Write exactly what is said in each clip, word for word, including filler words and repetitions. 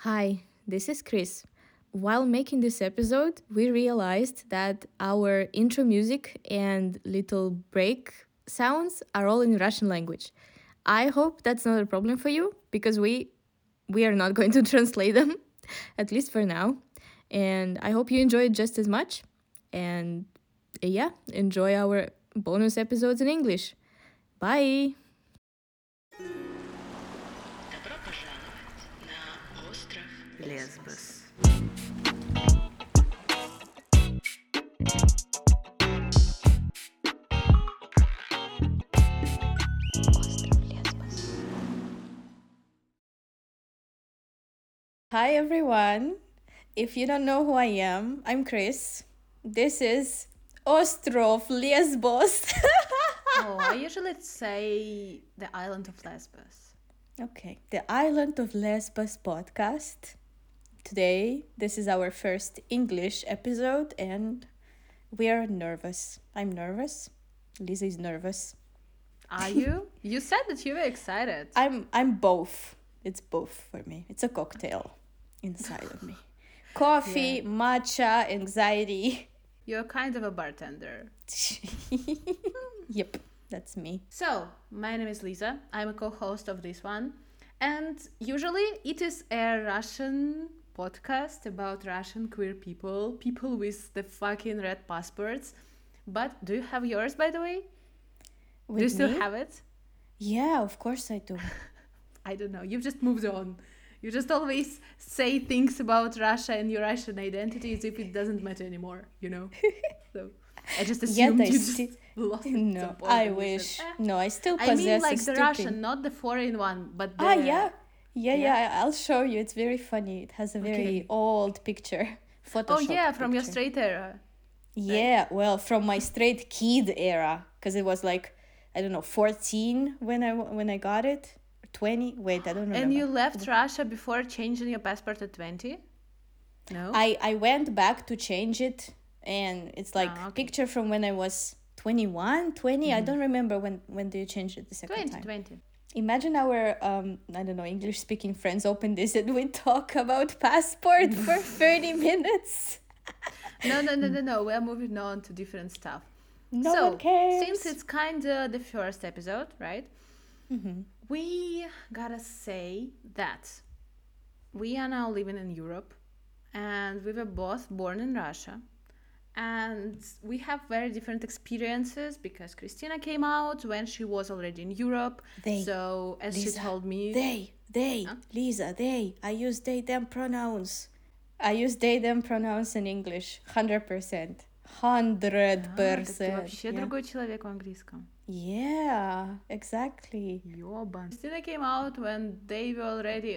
Hi, this is Chris. While making this episode, we realized that our intro music and little break sounds are all in Russian language. I hope that's not a problem for you because we we are not going to translate them, at least for now. And I hope you enjoy it just as much. And uh, yeah, enjoy our bonus episodes in English. Bye. Добро пожаловать на остров Лесбос. Hi everyone. If you don't know who I am, I'm Chris. This is Ostrov Lesbos. Oh, I usually say the island of Lesbos. Okay, the Island of Lesbos podcast. Today, this is our first English episode and we are nervous. I'm nervous. Lisa is nervous. Are you? You said that you were excited. I'm I'm both. It's both for me. It's a cocktail inside of me. Coffee, Yeah. matcha, anxiety. You're kind of a bartender. Yep, that's me. So, my name is Lisa. I'm a co-host of this one. And usually it is a Russian podcast about Russian queer people, people with the fucking red passports. But do you have yours, by the way? With do you still me? have it? Yeah, of course I do. I don't know. You've just moved on. You just always say things about Russia and your Russian identity as if it doesn't matter anymore, you know? So I just assumed I you just sti- lost it at No, some point I and you wish. said, "Eh." No, I still I possess mean a like the stupid. Russian, not the foreign one, but the... Ah, yeah. Yeah, Yeah? yeah, I'll show you. It's very funny. It has a very Okay. old picture. Photoshop. Oh yeah, from your picture. straight era. Yeah, well, from my straight kid era, because it was like, I don't know, fourteen when I when I got it, twenty. Wait, I don't remember. And you left Russia before changing your passport at twenty? No? I I went back to change it, and it's like Ah, okay. picture from when I was twenty-one, twenty. I don't remember when when do you change it the second twenty, time. twenty. Imagine our um I don't know English speaking friends open this and we talk about passport for thirty minutes. No, no, no, no, no. We're moving on to different stuff. No so, one cares. since it's kind of the first episode, right? Mhm. We gotta say that we are now living in Europe and we were both born in Russia. And we have very different experiences because Christina came out when she was already in Europe. They, so, as Lisa, she told me, They, they, Huh? Lisa, they. I use they, them pronouns. I use they, them pronouns in English. Hundred percent. Hundred «А, так ты percent. вообще другой человек в английском. Yeah, exactly. Ёбан. Christina came out when they were already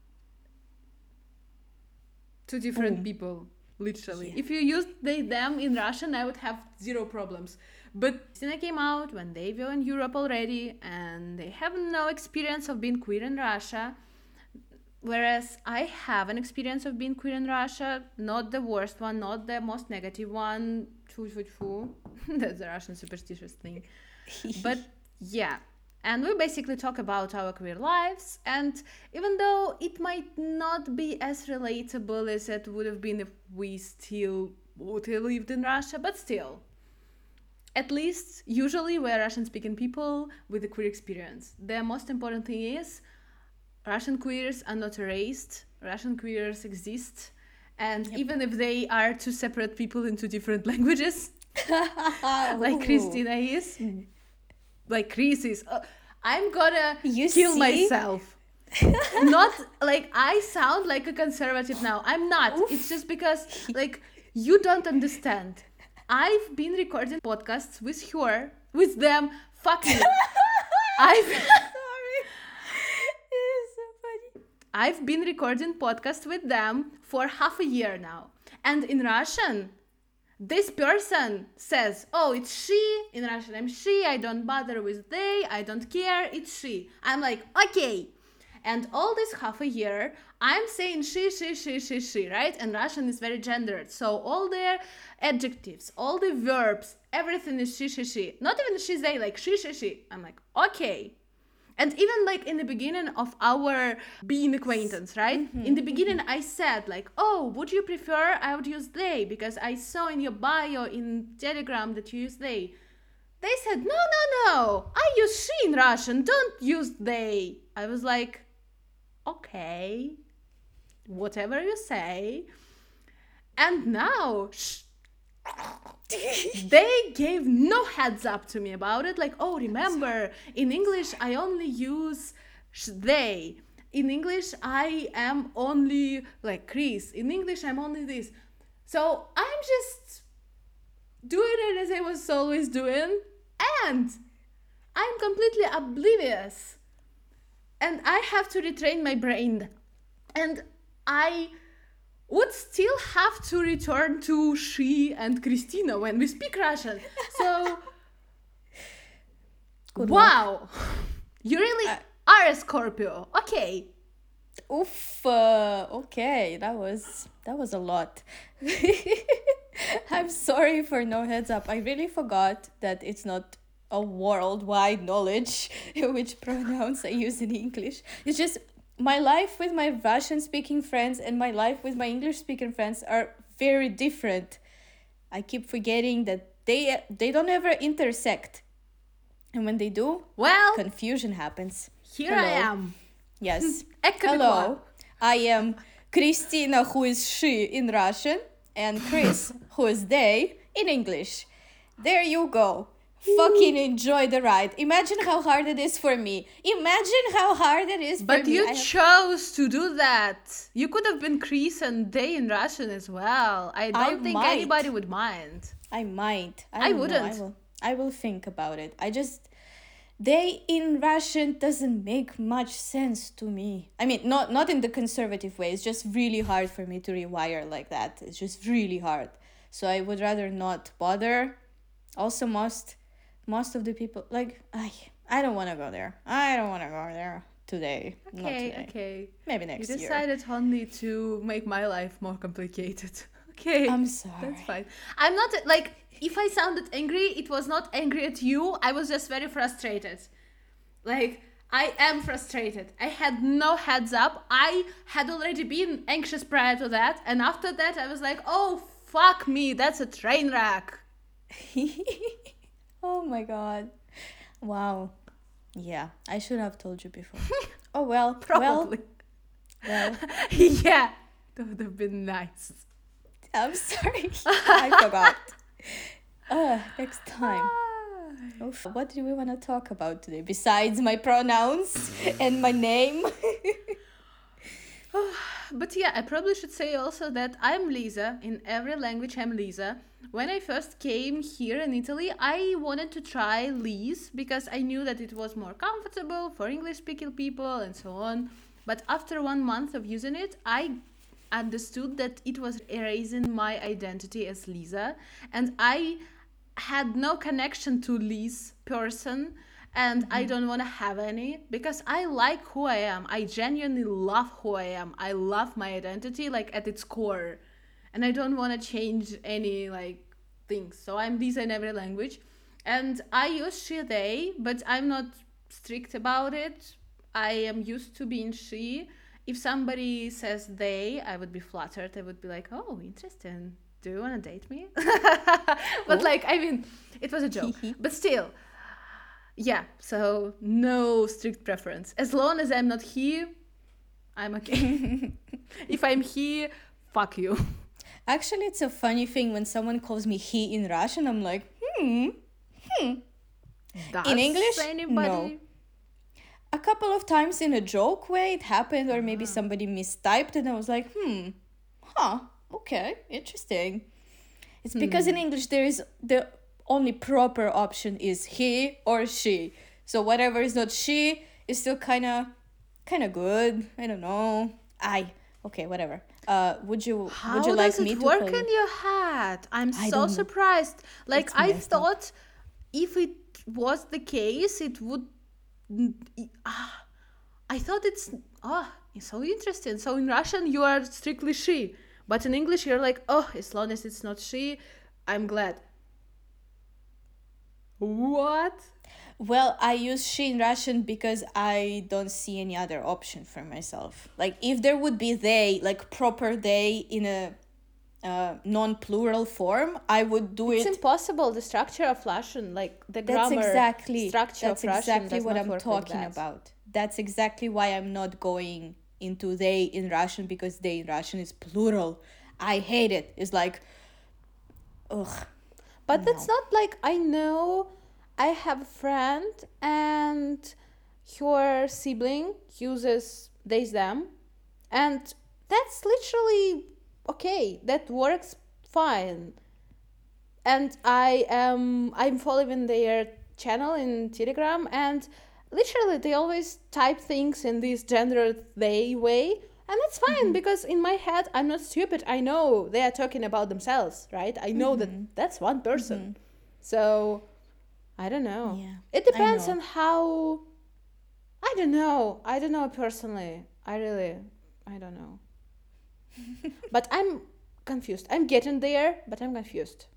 two different Boom. people, literally. Yeah. If you used they, them in Russian, I would have zero problems. But Christina came out when they were in Europe already and they have no experience of being queer in Russia. Whereas I have an experience of being queer in Russia, not the worst one, not the most negative one. Tfu, tfu, tfu. That's a Russian superstitious thing. But yeah, and we basically talk about our queer lives, and even though it might not be as relatable as it would have been if we still would have lived in Russia, but still, at least usually we're Russian speaking people with a queer experience. The most important thing is Russian queers are not erased, Russian queers exist, and Yep. even if they are two separate people in two different languages, like Ooh. Christina is, like Chris is. Uh, I'm gonna You kill see? myself. Not like I sound like a conservative now. I'm not. Oof. It's just because like you don't understand. I've been recording podcasts with her, with them. Fuck you. I've Sorry. It is so funny. I've been recording podcasts with them for half a year now. And in Russian, this person says, oh, it's she. In Russian, I'm she. I don't bother with they. I don't care. It's she. I'm like, okay. And all this half a year, I'm saying she, she, she, she, she, right? And Russian is very gendered. So all the adjectives, all the verbs, everything is she, she, she. Not even she, they, like she, she, she. I'm like, okay. And even like in the beginning of our being acquaintance, right? Mm-hmm, In the beginning, I said like, oh, would you prefer I would use they? Because I saw in your bio in Telegram that you use they. They said, no, no, no, I use she in Russian, don't use they. I was like, okay, whatever you say. And now, sh- they gave no heads up to me about it. Like, oh, remember, in English, I only use sh- they. In English, I am only like Chris. In English, I'm only this. So I'm just doing it as I was always doing. And I'm completely oblivious. And I have to retrain my brain. And I would still have to return to she and Christina when we speak Russian. So, Good wow. You really Uh, are a Scorpio. Okay. Oof. Uh, okay, that was that was a lot. I'm sorry for no heads up. I really forgot that it's not a worldwide knowledge which pronouns I use in English. It's just my life with my Russian speaking friends and my life with my English speaking friends are very different. I keep forgetting that they they don't ever intersect. And when they do, Well, confusion happens. here I Hello. am. Yes. Ecco qua. Hello. I am Christina, who is she in Russian, and Chris, who is they in English. There you go. Fucking enjoy the ride. Imagine how hard it is for me. Imagine how hard it is for But me. you I have- chose to do that. You could have been Chris and they in Russian as well. I don't think might. anybody would mind. I might. I don't know. wouldn't. I will. I will think about it. I just they in Russian doesn't make much sense to me. I mean, not not in the conservative way. It's just really hard for me to rewire like that. It's just really hard. So I would rather not bother. Also, most most of the people like I I don't want to go there. I don't want to go there today. Not Okay, today. okay. Maybe You next year. decided only to make my life more complicated. Okay. I'm sorry. That's fine. I'm not like if I sounded angry, it was not angry at you. I was just very frustrated. Like I am frustrated. I had no heads up. I had already been anxious prior to that, and after that I was like, "Oh fuck me, that's a train wreck." Oh my god. Wow. Yeah, I should have told you before. Oh well. Probably. Well, well, Yeah. That would have been nice. I'm sorry. I forgot. Uh, next time. Oof. What do we want to talk about today besides my pronouns and my name? But yeah, I probably should say also that I'm Lisa. In every language, I'm Lisa. When I first came here in Italy, I wanted to try Lise because I knew that it was more comfortable for English-speaking people and so on. But after one month of using it, I understood that it was erasing my identity as Lisa, and I had no connection to Lise person, and I don't want to have any because I like who I am. I genuinely love who I am. I love my identity like at its core, and I don't want to change any like things. So I'm Lisa in every language, and I use she they, but I'm not strict about it. I am used to being she. If somebody says they, I would be flattered. I would be like, oh, interesting. Do you want to date me? But like, I mean, it was a joke. But still, yeah. So no strict preference. As long as I'm not he, I'm okay. If I'm he, fuck you. Actually, it's a funny thing when someone calls me he in Russian. I'm like, hmm. Does In English, anybody? no. A couple of times in a joke way it happened, or maybe somebody mistyped, and I was like, hmm, huh, okay, interesting. It's because in English there is the only proper option is he or she. So whatever is not she is still kind of, kind of good. I don't know. I okay, whatever. Uh, would you How would you does like me it to work call you? in your head? I'm I so don't know. surprised. Like It's I messed up. thought, if it was the case, it would. Ah, I thought it's oh, it's so interesting. So in Russian you are strictly she, but in English you're like, oh, as long as it's not she, I'm glad. What? Well, I use she in Russian because I don't see any other option for myself. Like, if there would be they, like proper they in a uh, non-plural form, I would do It's it. impossible. The structure of Russian, like the That's grammar exactly structure that's of Russian, exactly does what not I'm work talking like that. about. That's exactly why I'm not going into they in Russian, because they in Russian is plural. I hate it. It's like, ugh. But that's not like, I know I have a friend and her sibling uses they them, and that's literally okay. That works fine. And I am I'm following their channel in Telegram, and literally they always type things in this gendered they way, and that's fine because in my head I'm not stupid. I know they are talking about themselves, right? I know that that's one person. So I don't know. Yeah, It I depends know. on how. I don't know. I don't know personally. I really I don't know. But I'm confused. I'm getting there, but I'm confused.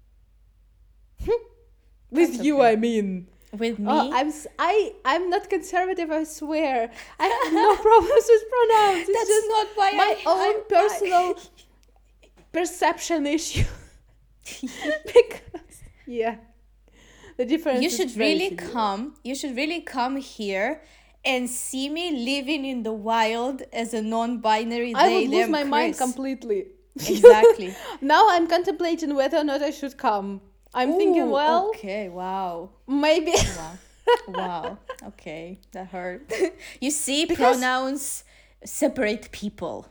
With That's you, okay. I mean. With me, Oh, I'm s- I I'm not conservative. I swear. I have no problems with pronouns. It's that's just not why my I, own I- personal perception issue. Because yeah, the difference. you is should very really severe. come. You should really come here and see me living in the wild as a non-binary. I they, would lose them, my mind Chris. completely. Exactly. Now I'm contemplating whether or not I should come. I'm thinking, Ooh, well, okay, wow. maybe. Wow. Wow. Okay, that hurt. You see, Because- pronouns separate people.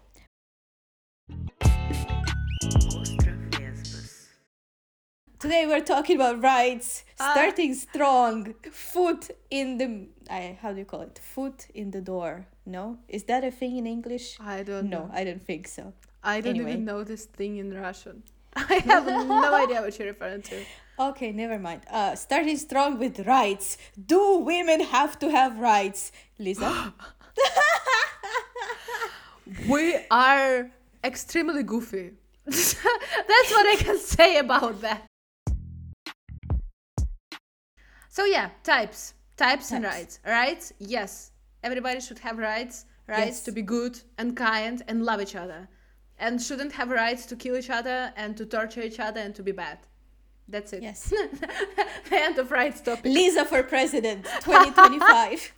Остров Лесбос. Today we're talking about rights, Ah. starting strong, foot in the I how do you call it? Foot in the door. No? Is that a thing in English? I don't No, know. I don't think so. I don't Anyway. even know this thing in Russian. I have no idea what you're referring to. Okay, never mind. Uh, starting strong with rights. Do women have to have rights? Lisa? We are extremely goofy. That's what I can say about that. So yeah, types. Types and Types. rights. Rights, yes. Everybody should have rights. Rights Yes. to be good and kind and love each other. And shouldn't have rights to kill each other and to torture each other and to be bad. That's it. Yes. The end of rights topic. Lisa for president, twenty twenty-five.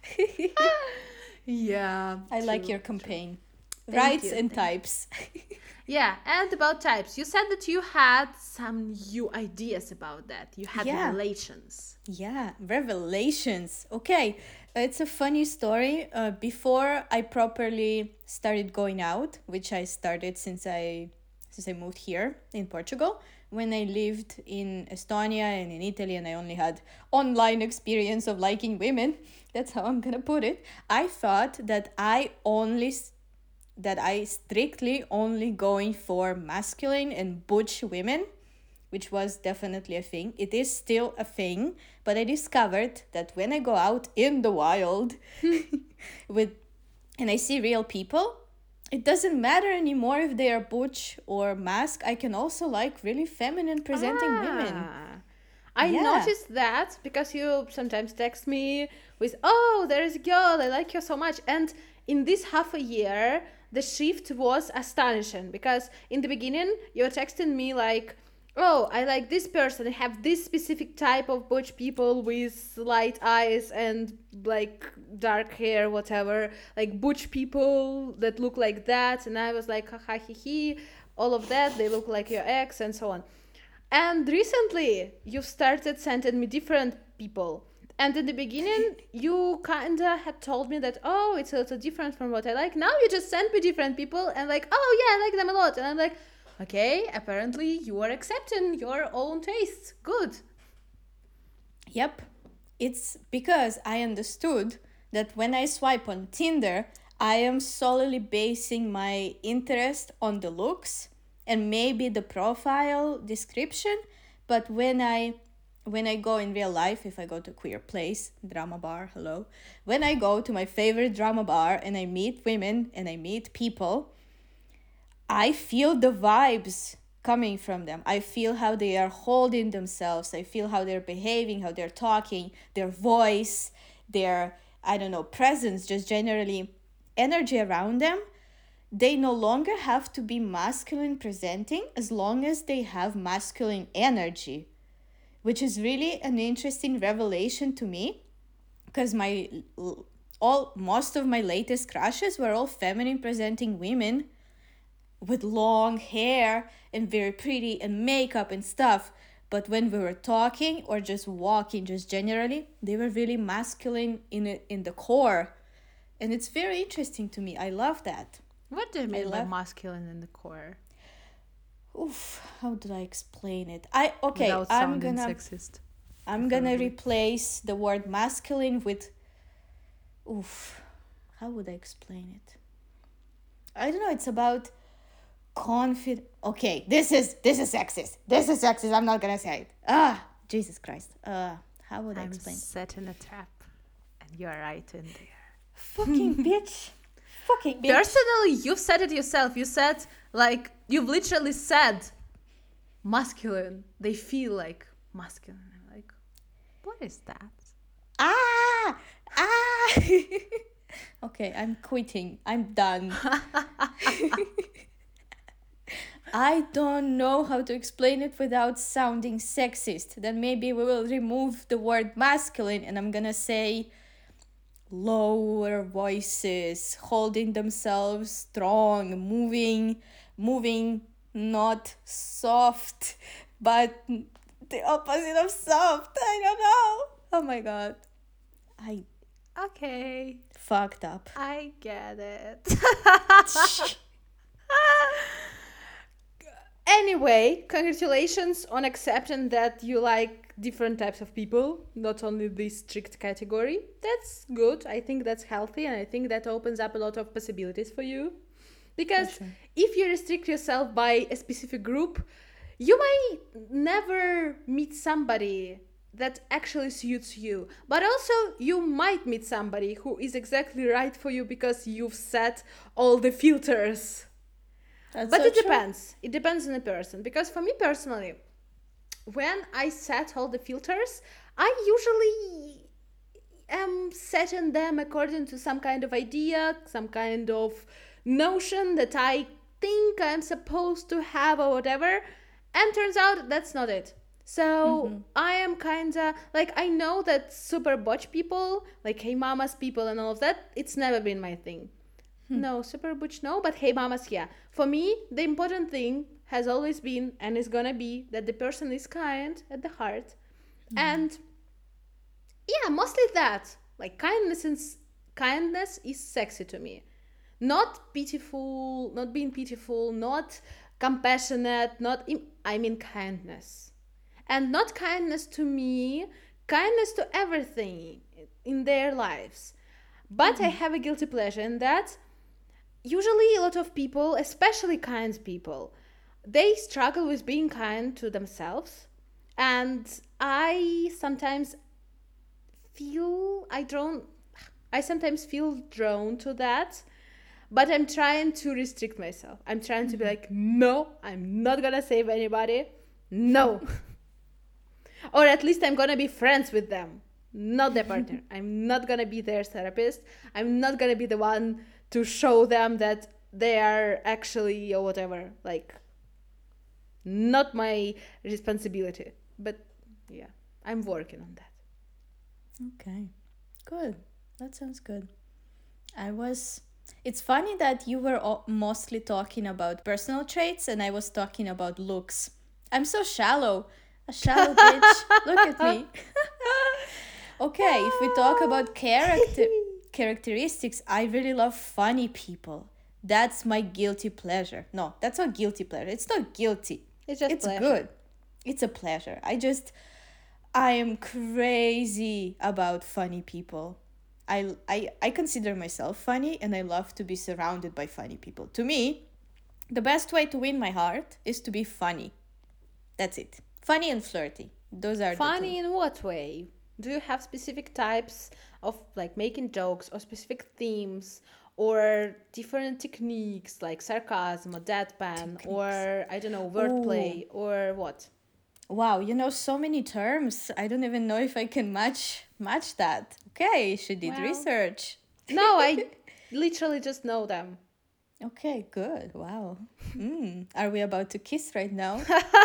Yeah. I like true, your true. campaign. Thank Rights you, and thank types. Yeah, and about types. You said that you had some new ideas about that. You had Yeah. relations. Yeah, revelations. Okay, it's a funny story. Uh, before I properly started going out, which I started since I since I moved here in Portugal. When I lived in Estonia and in Italy, and I only had online experience of liking women. That's how I'm gonna put it. I thought that I only s- that I strictly only going for masculine and butch women, which was definitely a thing. It is still a thing, but I discovered that when I go out in the wild with and I see real people, it doesn't matter anymore if they are butch or mask. I can also like really feminine presenting women. Ah. I Yeah. noticed that because you sometimes text me with, oh, there is a girl, I like her so much. And in this half a year, the shift was astonishing because in the beginning, you were texting me like, oh, I like this person, I have this specific type of butch people with light eyes and like dark hair, whatever, like butch people that look like that. And I was like, haha, he, he, all of that, they look like your ex and so on. And recently, you've started sending me different people. And in the beginning, you kinda had told me that, oh, it's a little different from what I like. Now you just send me different people and like, oh yeah, I like them a lot. And I'm like, okay, apparently you are accepting your own tastes. Good. Yep. It's because I understood that when I swipe on Tinder, I am solely basing my interest on the looks and maybe the profile description. But when I when I go in real life, if I go to a queer place, drama bar, hello. When I go to my favorite drama bar and I meet women and I meet people, I feel the vibes coming from them. I feel how they are holding themselves. I feel how they're behaving, how they're talking, their voice, their, I don't know, presence, just generally energy around them. They no longer have to be masculine presenting as long as they have masculine energy, which is really an interesting revelation to me, because my all most of my latest crushes were all feminine presenting women with long hair and very pretty and makeup and stuff. But when we were talking or just walking, just generally, they were really masculine in it, in the core. And it's very interesting to me. I love that. What do you mean by love- masculine in the core? Oof, how did I explain it? I okay, Without I'm sounding gonna sexist. I'm gonna preferably. replace the word masculine with oof. How would I explain it? I don't know, it's about confident. Okay, this is this is sexist. This is sexist. I'm not gonna say it. Ah, Jesus Christ. Uh, how would I I'm explain? set in a trap, and you're right in there. Fucking bitch. Fucking bitch. Personally, you've said it yourself. You said, like, you've literally said masculine. They feel like masculine. I'm like, what is that? Ah, ah. Okay, I'm quitting. I'm done. I don't know how to explain it without sounding sexist. Then maybe we will remove the word masculine and I'm gonna say lower voices, holding themselves strong, moving, moving, not soft, but the opposite of soft. I don't know. Oh my god. I Okay, fucked up. I get it. Anyway, congratulations on accepting that you like different types of people, not only this strict category. That's good. I think that's healthy, and I think that opens up a lot of possibilities for you. Because sure. if you restrict yourself by a specific group, you might never meet somebody that actually suits you. But also, you might meet somebody who is exactly right for you because you've set all the filters. That's But so it true. depends. It depends on the person. Because for me personally, when I set all the filters, I usually am setting them according to some kind of idea, some kind of notion that I think I'm supposed to have or whatever. And turns out that's not it. So I am kind of like, I know that super butch people, like Hey Mamas people and all of that, it's never been my thing. No, super butch, no, but Hey Mamas, yeah. For me, the important thing has always been and is gonna be that the person is kind at the heart. And yeah, mostly that. Like kindness and s- kindness is sexy to me. Not pitiful, not being pitiful, not compassionate, not im- I mean kindness. And not kindness to me, kindness to everything in their lives. But I have a guilty pleasure in that usually a lot of people, especially kind people, they struggle with being kind to themselves. And I sometimes feel I drawn I sometimes feel drawn to that, but I'm trying to restrict myself. I'm trying to be like, no, I'm not gonna save anybody. No. Or at least I'm gonna be friends with them, not their partner. I'm not gonna be their therapist. I'm not gonna be the one to show them that they are actually or whatever. Like, not my responsibility. But yeah, I'm working on that. Okay, good. That sounds good. I was. It's funny that you were o- mostly talking about personal traits and I was talking about looks. I'm so shallow. A shallow bitch. Look at me. Okay, if we talk about character characteristics, I really love funny people. That's my guilty pleasure. No, that's not guilty pleasure. It's not guilty. It's just it's pleasure. good. It's a pleasure. I just I am crazy about funny people. I, I I consider myself funny and I love to be surrounded by funny people. To me, the best way to win my heart is to be funny. That's it. Funny and flirty. Those are Funny the in what way? Do you have specific types of like making jokes or specific themes or different techniques like sarcasm or deadpan or I don't know, wordplay or what? Wow, you know so many terms. I don't even know if I can match match that. Okay, she did Well. research. No, I literally just know them. Okay, good. Wow. Mm. Are we about to kiss right now?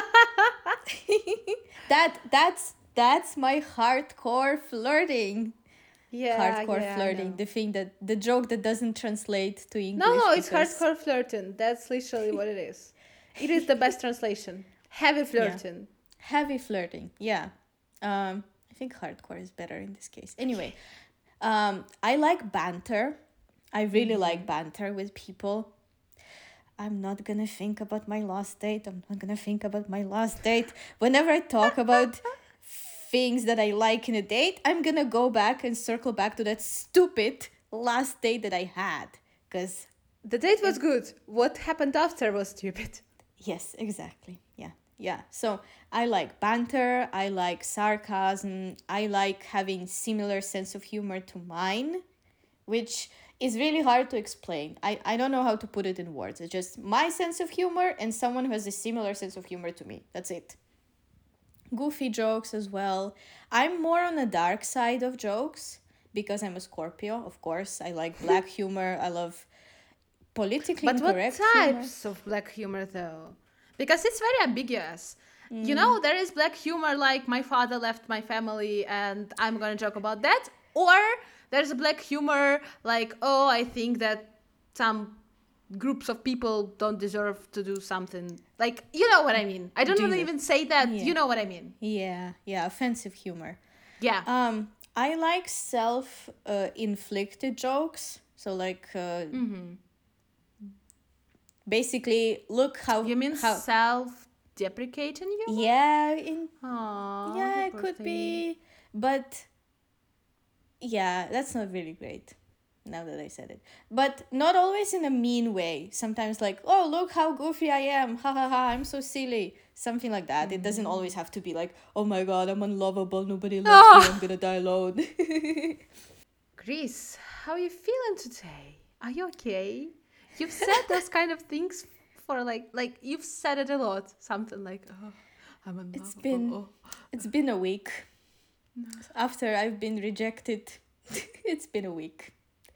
that that's that's my hardcore flirting. Yeah, hardcore yeah, I flirting. know. The thing that the joke that doesn't translate to English. No, no, it's because- hardcore flirting. That's literally what it is. It is the best translation. Heavy flirting. Heavy flirting. Yeah. Um, I think hardcore is better in this case. Anyway, um, I like banter. I really like banter with people. I'm not gonna think about my last date. I'm not gonna think about my last date. Whenever I talk about things that I like in a date, I'm gonna go back and circle back to that stupid last date that I had. Because, The date was good. What happened after was stupid. yes, exactly. Yeah. Yeah. So I like banter. I like sarcasm. I like having similar sense of humor to mine, which is really hard to explain. I, I don't know how to put it in words. It's just my sense of humor and someone who has a similar sense of humor to me. That's it. Goofy jokes as well. I'm more on the dark side of jokes because I'm a Scorpio, of course. I like black humor. I love politically But what incorrect humor. types of black humor though? Because it's very ambiguous. You know, there is black humor like my father left my family and I'm gonna joke about that. Or there's a black humor like, oh, I think that some groups of people don't deserve to do something. Like, you know what I mean. I don't Do want to you? even say that. Yeah. You know what I mean. Yeah, yeah, offensive humor. Yeah. Um, I like self uh, inflicted jokes. So like, uh, basically, look how you mean how self-deprecating humor? yeah in Aw, yeah you it poor could thing. be, but yeah, that's not really great. Now that I said it, but not always in a mean way. Sometimes like, oh, look how goofy I am, ha ha ha, I'm so silly, something like that. It doesn't always have to be like, oh my god, I'm unlovable, nobody loves me, I'm gonna die alone. Chris, how are you feeling today? Are you okay? You've said those kind of things for like, like you've said it a lot. Something like, oh, I'm unlovable. It's been oh. it's been a week after I've been rejected. It's been a week.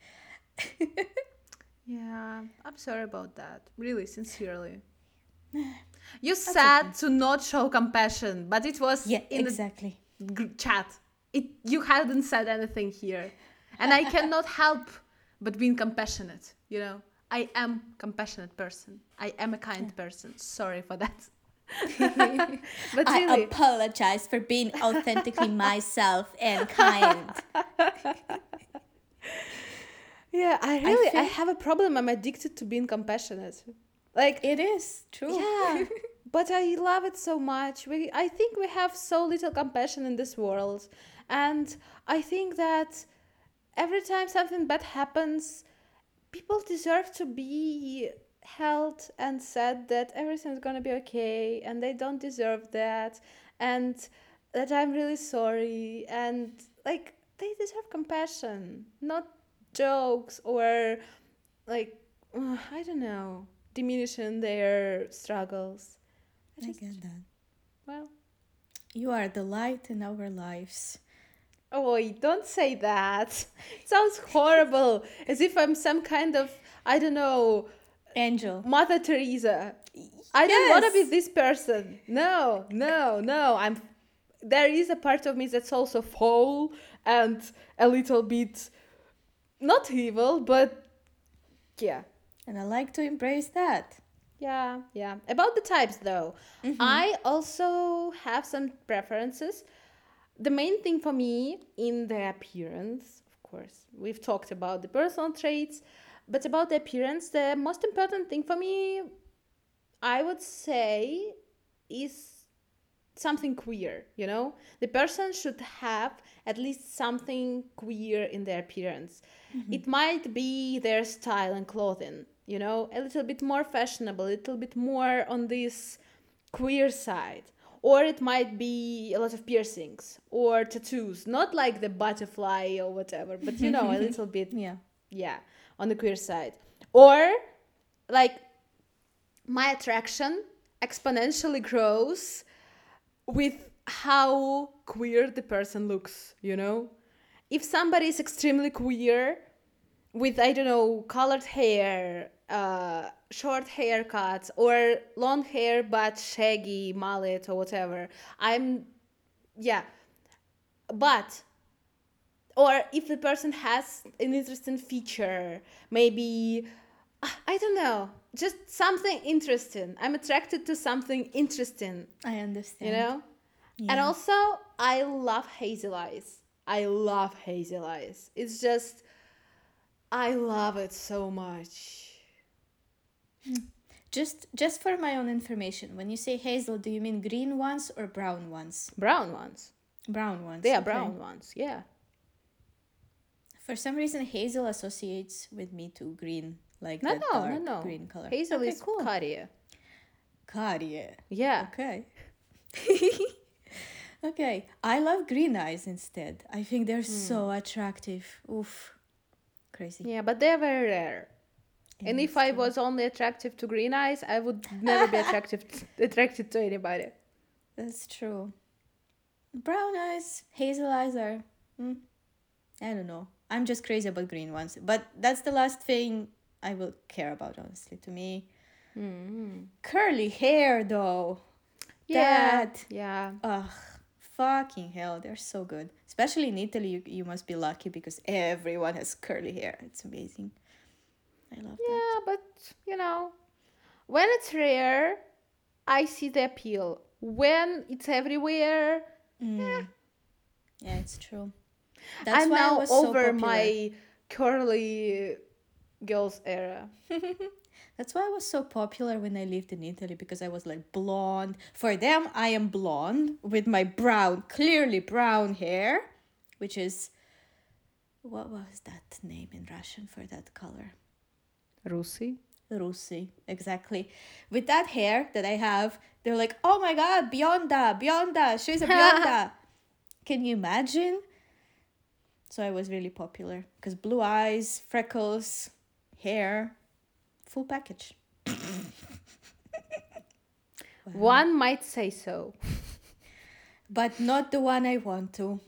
Yeah, I'm sorry about that. Really, sincerely. You said okay. to not show compassion, but it was Yeah, in exactly. the gr- chat. It you hadn't said anything here, and I cannot help but being compassionate. You know, I am compassionate person. I am a kind person. Sorry for that. But I really, apologize for being authentically myself and kind. yeah, I really I, think- have a problem. I'm addicted to being compassionate. Like It is true. yeah, but I love it so much. We I think we have so little compassion in this world, and I think that every time something bad happens, people deserve to be held and said that everything's gonna be okay, and they don't deserve that, and that I'm really sorry, and like they deserve compassion, not jokes or like uh, I don't know, diminishing their struggles. I I just, get that. well, You are the light in our lives. oh, don't say that. It sounds horrible, as if I'm some kind of, I don't know, Angel. Mother Teresa. I don't want to be Yes. this person. No, no, no. I'm. There is a part of me that's also foul and a little bit not evil, but yeah, And I like to embrace that. yeah, yeah. About the types, though, I also have some preferences. The main thing for me in the appearance, of course, we've talked about the personal traits, but about the appearance, the most important thing for me, I would say, is something queer, you know? The person should have at least something queer in their appearance. It might be their style and clothing, you know? A little bit more fashionable, a little bit more on this queer side. Or it might be a lot of piercings or tattoos, not like the butterfly or whatever, but you know, a little bit, Yeah. yeah. on the queer side. Or like my attraction exponentially grows with how queer the person looks, you know? If somebody is extremely queer with, I don't know, colored hair, uh, short haircuts, or long hair but shaggy mullet or whatever, I'm, yeah. But, or if the person has an interesting feature, maybe, I don't know, just something interesting. I'm attracted to something interesting, I understand. you know? Yeah. And also, I love hazel eyes. I love hazel eyes. It's just, I love it so much. Just just for my own information, when you say hazel, do you mean green ones or brown ones? Brown ones. Brown ones. They are okay. brown ones, yeah. For some reason, hazel associates with me to green, like No, that no, dark no, no. green color. Hazel okay, is cool. Cartier. Cartier. Yeah. Okay. Okay. I love green eyes instead. I think they're so attractive. Oof. Crazy. Yeah, but they're very rare. Yeah, And if it's I true. was only attractive to green eyes, I would never be attractive attracted to anybody. That's true. Brown eyes, hazel eyes are. Mm, I don't know. I'm just crazy about green ones. But that's the last thing I will care about, honestly, to me. Mm-hmm. Curly hair, though. Yeah. That. Yeah. Ugh. Fucking hell, they're so good. Especially in Italy, you, you must be lucky because everyone has curly hair. It's amazing. I love that. Yeah, but you know, when it's rare, I see the appeal. When it's everywhere, Mm. Yeah, it's true. That's I'm why now I was so over popular. my curly girls era. That's why I was so popular when I lived in Italy, because I was like blonde. For them, I am blonde with my brown, clearly brown hair, which is, what was that name in Russian for that color? Rusi. Rusi, exactly. With that hair that I have, they're like, oh my god, Bionda, Bionda, she's a Bionda. Can you imagine? So I was really popular because blue eyes, freckles, hair, full package. Wow. One might say so. But not the one I want to.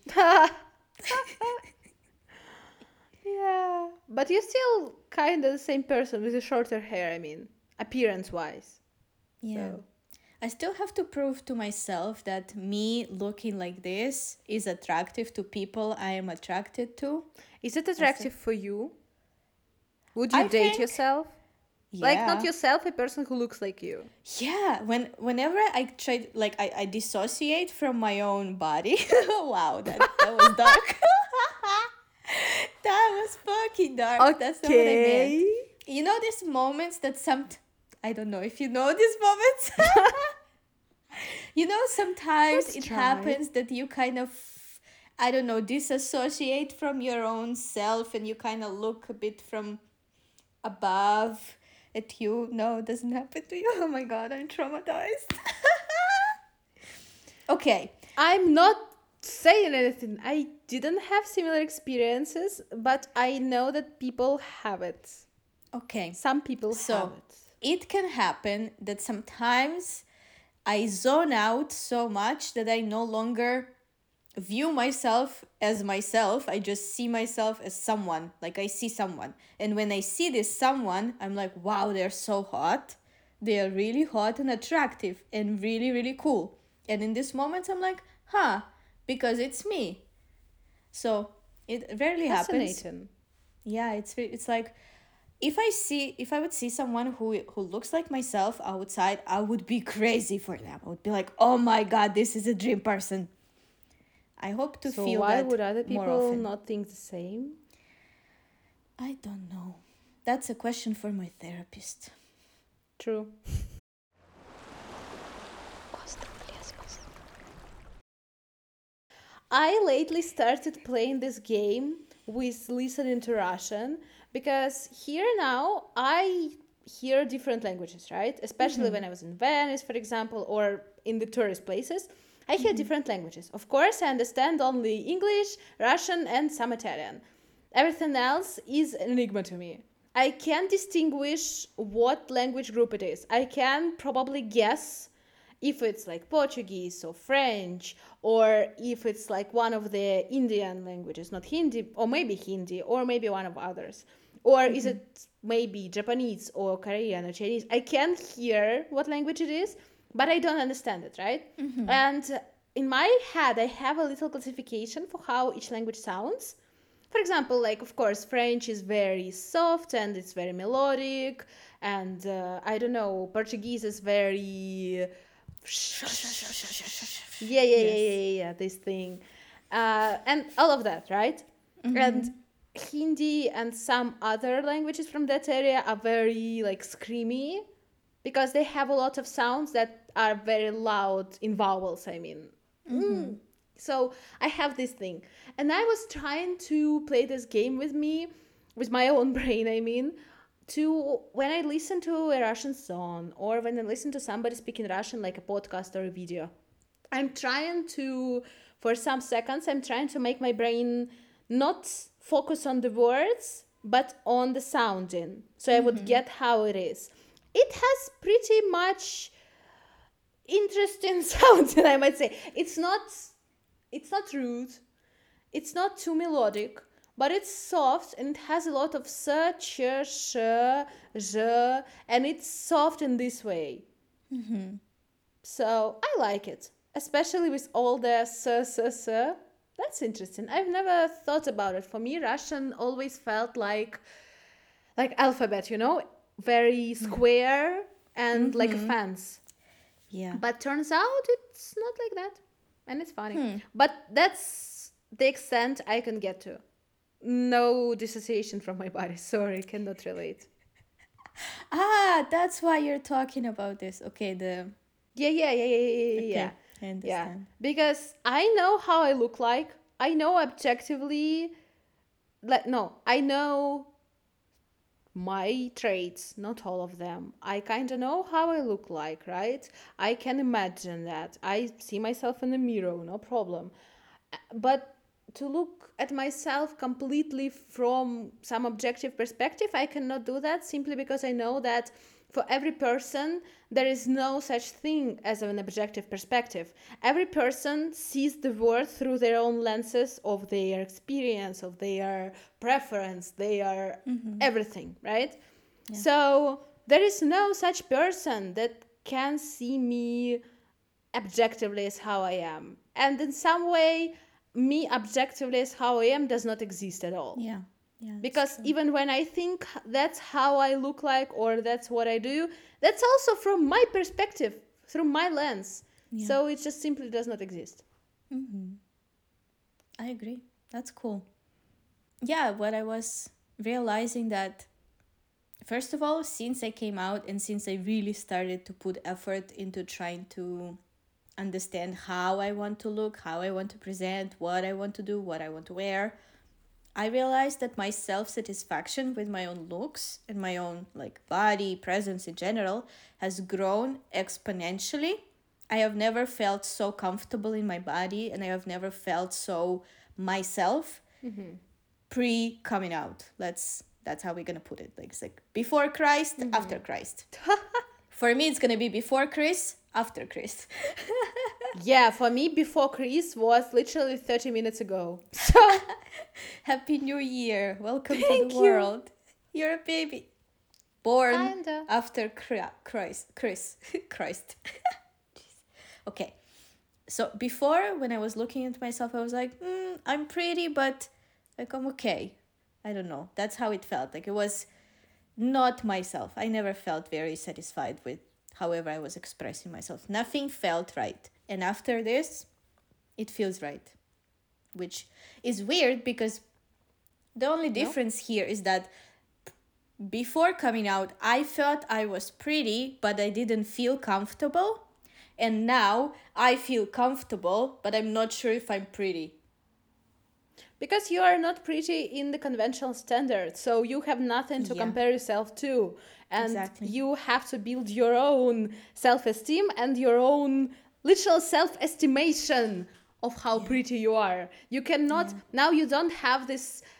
Yeah. But you're still kind of the same person with the shorter hair, I mean, appearance wise. Yeah. So. I still have to prove to myself that me looking like this is attractive to people I am attracted to. Is it attractive for you? Would you I date think- yourself? Yeah. Like, not yourself, a person who looks like you. Yeah, when whenever I try, like I, I dissociate from my own body. Wow, that, that was dark. That was fucking dark. That's not what I meant. You know these moments that some, I don't know if you know these moments. You know, sometimes Let's it try. happens that you kind of, I don't know, disassociate from your own self and you kind of look a bit from above at you. No, it doesn't happen to you. Oh my god, I'm traumatized. Okay. I'm not saying anything. I didn't have similar experiences, but I know that people have it. Okay. Some people So, have it. it can happen that sometimes I zone out so much that I no longer view myself as myself. I just see myself as someone. Like I see someone. And when I see this someone, I'm like, wow, they're so hot. They are really hot and attractive and really, really cool. And in this moment, I'm like, huh, because it's me. So it rarely happens. Fascinating. Yeah, it's re- it's like if I see if I would see someone who who looks like myself outside, I would be crazy for them. I would be like, oh my god, this is a dream person. I hope to So feel why that would other more people often. not think the same? I don't know. That's a question for my therapist. True. I lately started playing this game with listening to Russian because here now I hear different languages, right? Especially when I was in Venice, for example, or in the tourist places. I hear different languages. Of course, I understand only English, Russian, and some Italian. Everything else is an enigma to me. I can distinguish what language group it is. I can probably guess if it's like Portuguese or French, or if it's like one of the Indian languages, not Hindi, or maybe Hindi, or maybe one of others. Or is it maybe Japanese or Korean or Chinese? I can hear what language it is, but I don't understand it, right? And in my head, I have a little classification for how each language sounds. For example, like, of course, French is very soft and it's very melodic. And uh, I don't know, Portuguese is very. Yeah, yeah, yeah, yeah, yeah, yeah, this thing. Uh, and all of that, right? And Hindi and some other languages from that area are very, like, screamy because they have a lot of sounds that are very loud in vowels, I mean. Mm. So I have this thing. And I was trying to play this game with me, with my own brain, I mean, to when I listen to a Russian song or when I listen to somebody speaking Russian, like a podcast or a video, I'm trying to, for some seconds, I'm trying to make my brain not focus on the words, but on the sounding. So I would get how it is. It has pretty much interesting sounding, I might say. It's not, it's not rude. It's not too melodic, but it's soft and it has a lot of s, ch, sh, zh, and it's soft in this way. So I like it, especially with all the s, s, s. That's interesting. I've never thought about it. For me, Russian always felt like like alphabet, you know, very square and like a fence. Yeah. But turns out it's not like that, and it's funny. But that's the extent I can get to. No dissociation from my body. Sorry, cannot relate. Ah, that's why you're talking about this. Okay, the Yeah, yeah, yeah, yeah, yeah, yeah. okay, yeah. I Yeah, understand. because I know how I look like. I know objectively, like, no, I know my traits, not all of them. I kind of know how I look like, right? I can imagine that. I see myself in the mirror, no problem. But to look at myself completely from some objective perspective, I cannot do that simply because I know that for every person, there is no such thing as an objective perspective. Every person sees the world through their own lenses of their experience, of their preference, their everything, right? So there is no such person that can see me objectively as how I am. And in some way, me objectively as how I am does not exist at all. Yeah. Yeah. that's Because true. even when I think that's how I look like or that's what I do, that's also from my perspective, through my lens. Yeah. So it just simply does not exist. I agree. That's cool. Yeah, what I was realizing that first of all, since I came out and since I really started to put effort into trying to understand how I want to look, how I want to present, what I want to do, what I want to wear, I realized that my self-satisfaction with my own looks and my own like body presence in general has grown exponentially. I have never felt so comfortable in my body and I have never felt so myself pre coming out. Let's that's how we're gonna put it. Like it's like before Christ, after Christ. For me, it's gonna be before Chris, after Chris. Yeah, for me, before Chris was literally thirty minutes ago. So, Happy New Year! Welcome to Thank the you. world. You're a baby, born Kinda. after Chri- Christ. Chris, Christ. Jeez. Okay, so before when I was looking at myself, I was like, mm, I'm pretty, but like I'm okay. I don't know. That's how it felt. Like it was not myself. I never felt very satisfied with however I was expressing myself. Nothing felt right. And after this, it feels right. Which is weird because the only difference here is that before coming out, I felt I was pretty, but I didn't feel comfortable. And now I feel comfortable, but I'm not sure if I'm pretty. because you are not pretty in the conventional standard, so you have nothing to Yeah. compare yourself to. And Exactly. you have to build your own self esteem and your own literal self estimation of how pretty you are. You cannot, now you don't have this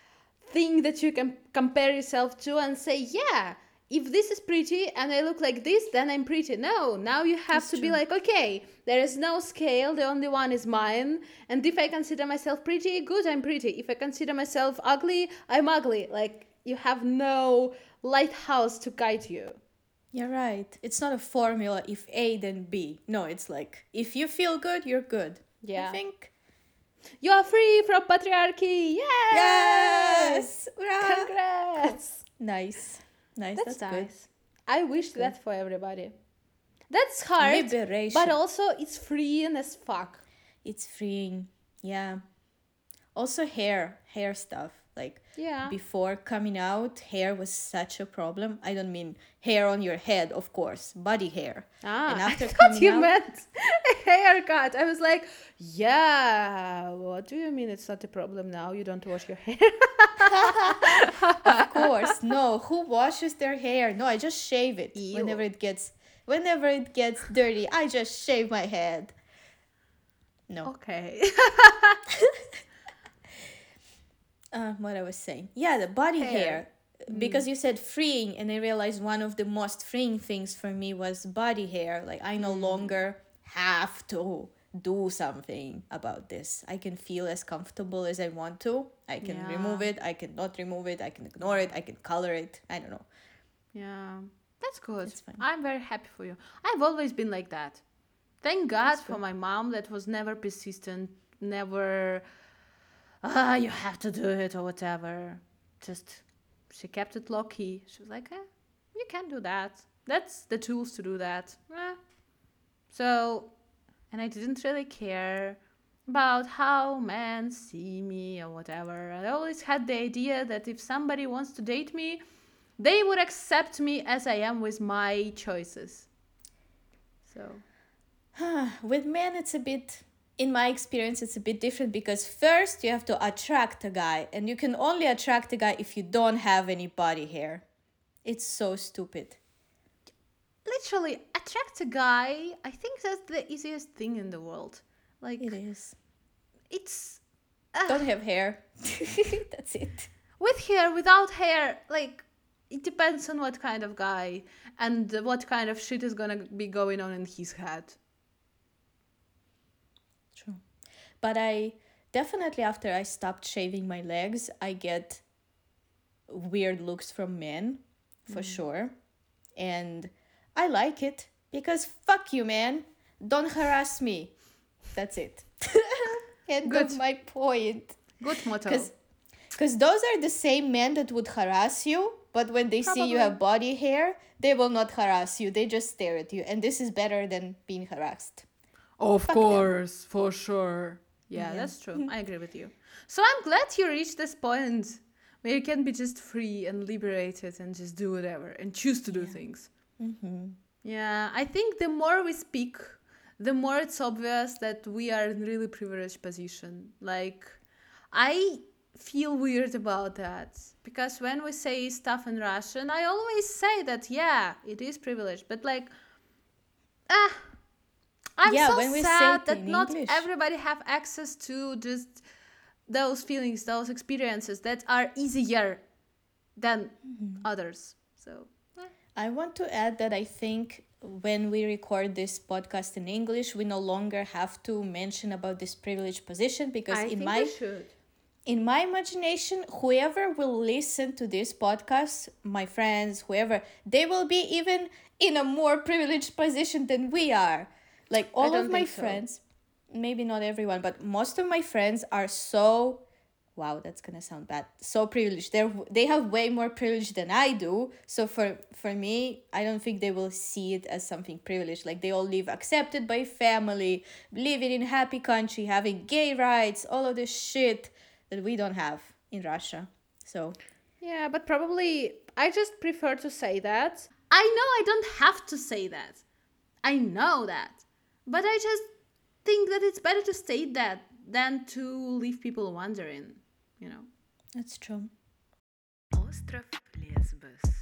thing that you can compare yourself to and say, yeah, if this is pretty and I look like this, then I'm pretty. No, now you have That's to be true. like, okay, there is no scale, the only one is mine. And if I consider myself pretty, good, I'm pretty. If I consider myself ugly, I'm ugly. Like, you have no lighthouse to guide you. You're right. It's not a formula if A then B. No, it's like if you feel good, you're good. Yeah. I think. You are free from patriarchy. Yes! Yes! Hurrah! Congrats! Nice. Nice. That's, That's, nice. I wish that for everybody. That's hard, good. Liberation. but also it's freeing as fuck. It's freeing. Yeah. Also hair. Hair stuff. Like Yeah. before coming out, hair was such a problem. I don't mean hair on your head, of course. Body hair. Ah, And after I thought coming you out, meant a haircut. I was like, yeah, what do you mean it's not a problem now? You don't wash your hair. of course, no. Who washes their hair? No, I just shave it Ew. whenever it gets whenever it gets dirty. I just shave my head. No. Okay. Uh, what I was saying. Yeah, the body hair. Hair. Because you said freeing, and I realized one of the most freeing things for me was body hair. Like, I no longer have to do something about this. I can feel as comfortable as I want to. I can Yeah. remove it. I can not remove it. I can ignore it. I can color it. I don't know. Yeah, that's good. It's fine. I'm very happy for you. I've always been like that. Thank God for my mom that was never persistent, never, ah, you have to do it or whatever. Just, she kept it low key. She was like, eh, you can do that. That's the tools to do that. Eh. So, and I didn't really care about how men see me or whatever. I always had the idea that if somebody wants to date me, they would accept me as I am with my choices. So, With men, it's a bit, in my experience, it's a bit different because first you have to attract a guy, and you can only attract a guy if you don't have any body hair. It's so stupid. literally, attract a guy, I think that's the easiest thing in the world. Like, It is. it's Don't have hair. That's it. with hair, without hair, like, it depends on what kind of guy and what kind of shit is gonna be going on in his head. True. But I definitely, after I stopped shaving my legs, I get weird looks from men, for sure. And I like it because fuck you, man. Don't harass me. That's it. End Good. of my point. Good motto. Because those are the same men that would harass you, but when they see you Probably. have body hair, they will not harass you. They just stare at you. And this is better than being harassed. Of Fuck them. course, for sure. Yeah, Yeah. that's true. I agree with you. So I'm glad you reached this point where you can be just free and liberated and just do whatever and choose to do things. Mm-hmm. Yeah, I think the more we speak, the more it's obvious that we are in really privileged position. Like, I feel weird about that because when we say stuff in Russian, I always say that, yeah, it is privileged, but like, ah, I'm Yeah, so when we say sad it that in not English. everybody have access to just those feelings, those experiences that are easier than Mm-hmm. others. So, eh. I want to add that I think when we record this podcast in English, we no longer have to mention about this privileged position because I in think my we should. in my imagination, whoever will listen to this podcast, my friends, whoever, they will be even in a more privileged position than we are. Like all don't of my think so. friends, maybe not everyone, but most of my friends are so, wow, that's gonna sound bad, so privileged. They're they have way more privilege than I do. So for for me, I don't think they will see it as something privileged. Like they all live accepted by family, living in a happy country, having gay rights, all of this shit that we don't have in Russia. So Yeah, but probably I just prefer to say that. I know I don't have to say that. I know that. But I just think that it's better to state that than to leave people wondering, you know. that's true. Остров Лесбос.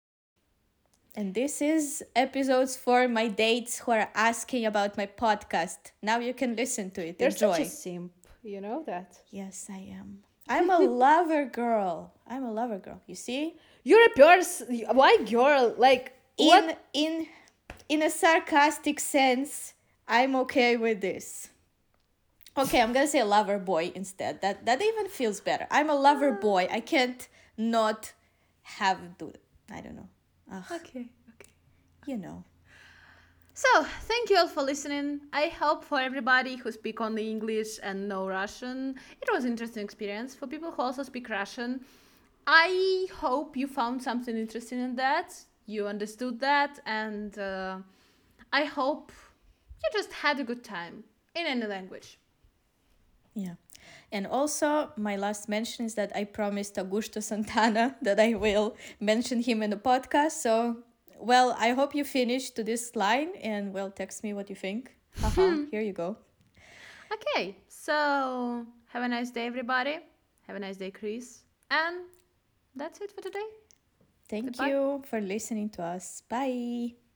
And this is episodes for my dates who are asking about my podcast. Now you can listen to it. You're Enjoy. such a simp, you know that. Yes, I am. I'm a lover girl. I'm a lover girl. You see? You're a person. Why girl? Like, In what? in in a sarcastic sense, I'm okay with this. Okay, I'm gonna say lover boy instead. That that even feels better. I'm a lover boy. I can't not have do. I don't know. Ugh, Okay, okay. you know. So, thank you all for listening. I hope for everybody who speak only English and no Russian, it was an interesting experience. For people who also speak Russian, I hope you found something interesting in that. You understood that, and uh, I hope you just had a good time in any language. Yeah. And also, my last mention is that I promised Augusto Santana that I will mention him in the podcast. So, well, I hope you finish to this line and, well, text me what you think. Haha, here you go. Okay, so have a nice day, everybody. Have a nice day, Chris. And that's it for today. Thank Goodbye. you for listening to us. Bye.